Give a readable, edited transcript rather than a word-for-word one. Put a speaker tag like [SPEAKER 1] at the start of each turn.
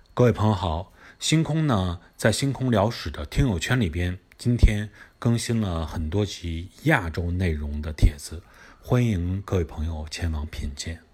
[SPEAKER 1] 各位朋友好，星空呢在星空聊史的听友圈里边，今天更新了很多集亚洲内容的帖子，欢迎各位朋友前往品鉴。